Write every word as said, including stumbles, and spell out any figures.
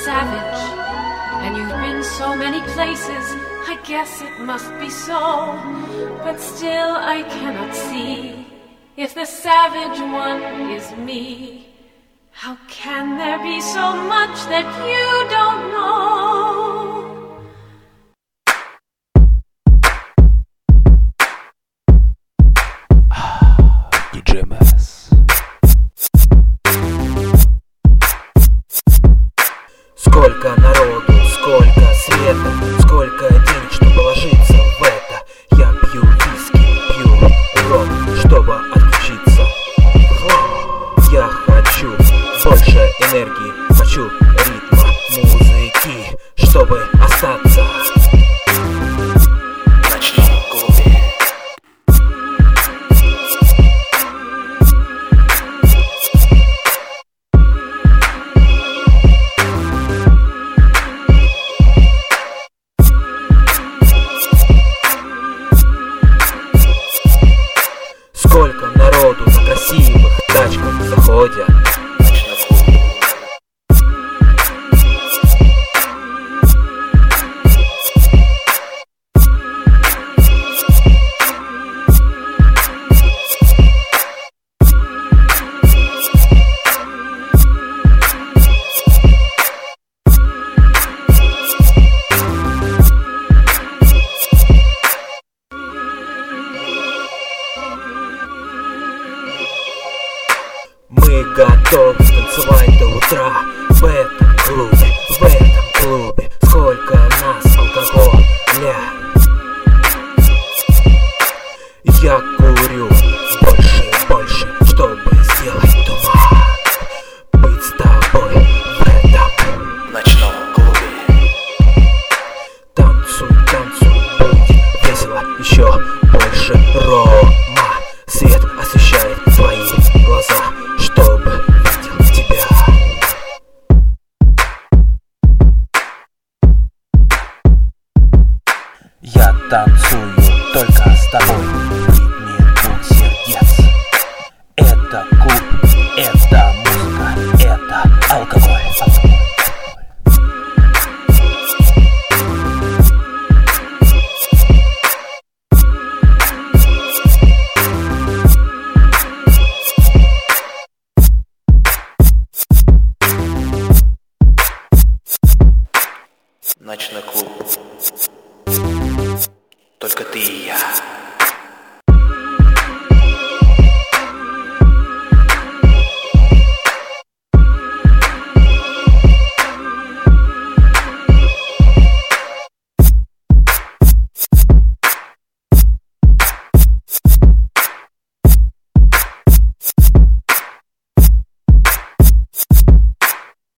savage, and you've been so many places, I guess it must be so. But still I cannot see if the savage one is me. How can there be so much that you don't know? диджей Мэс. Сколько народу, сколько света, сколько денег, чтобы вложиться в это. Я пью виски, пью ром, чтобы отключиться. Я хочу больше энергии, хочу ритма, музыки, чтобы остаться. Сколько народу на красивых тачках заходят. Мы готовы танцевать до утра.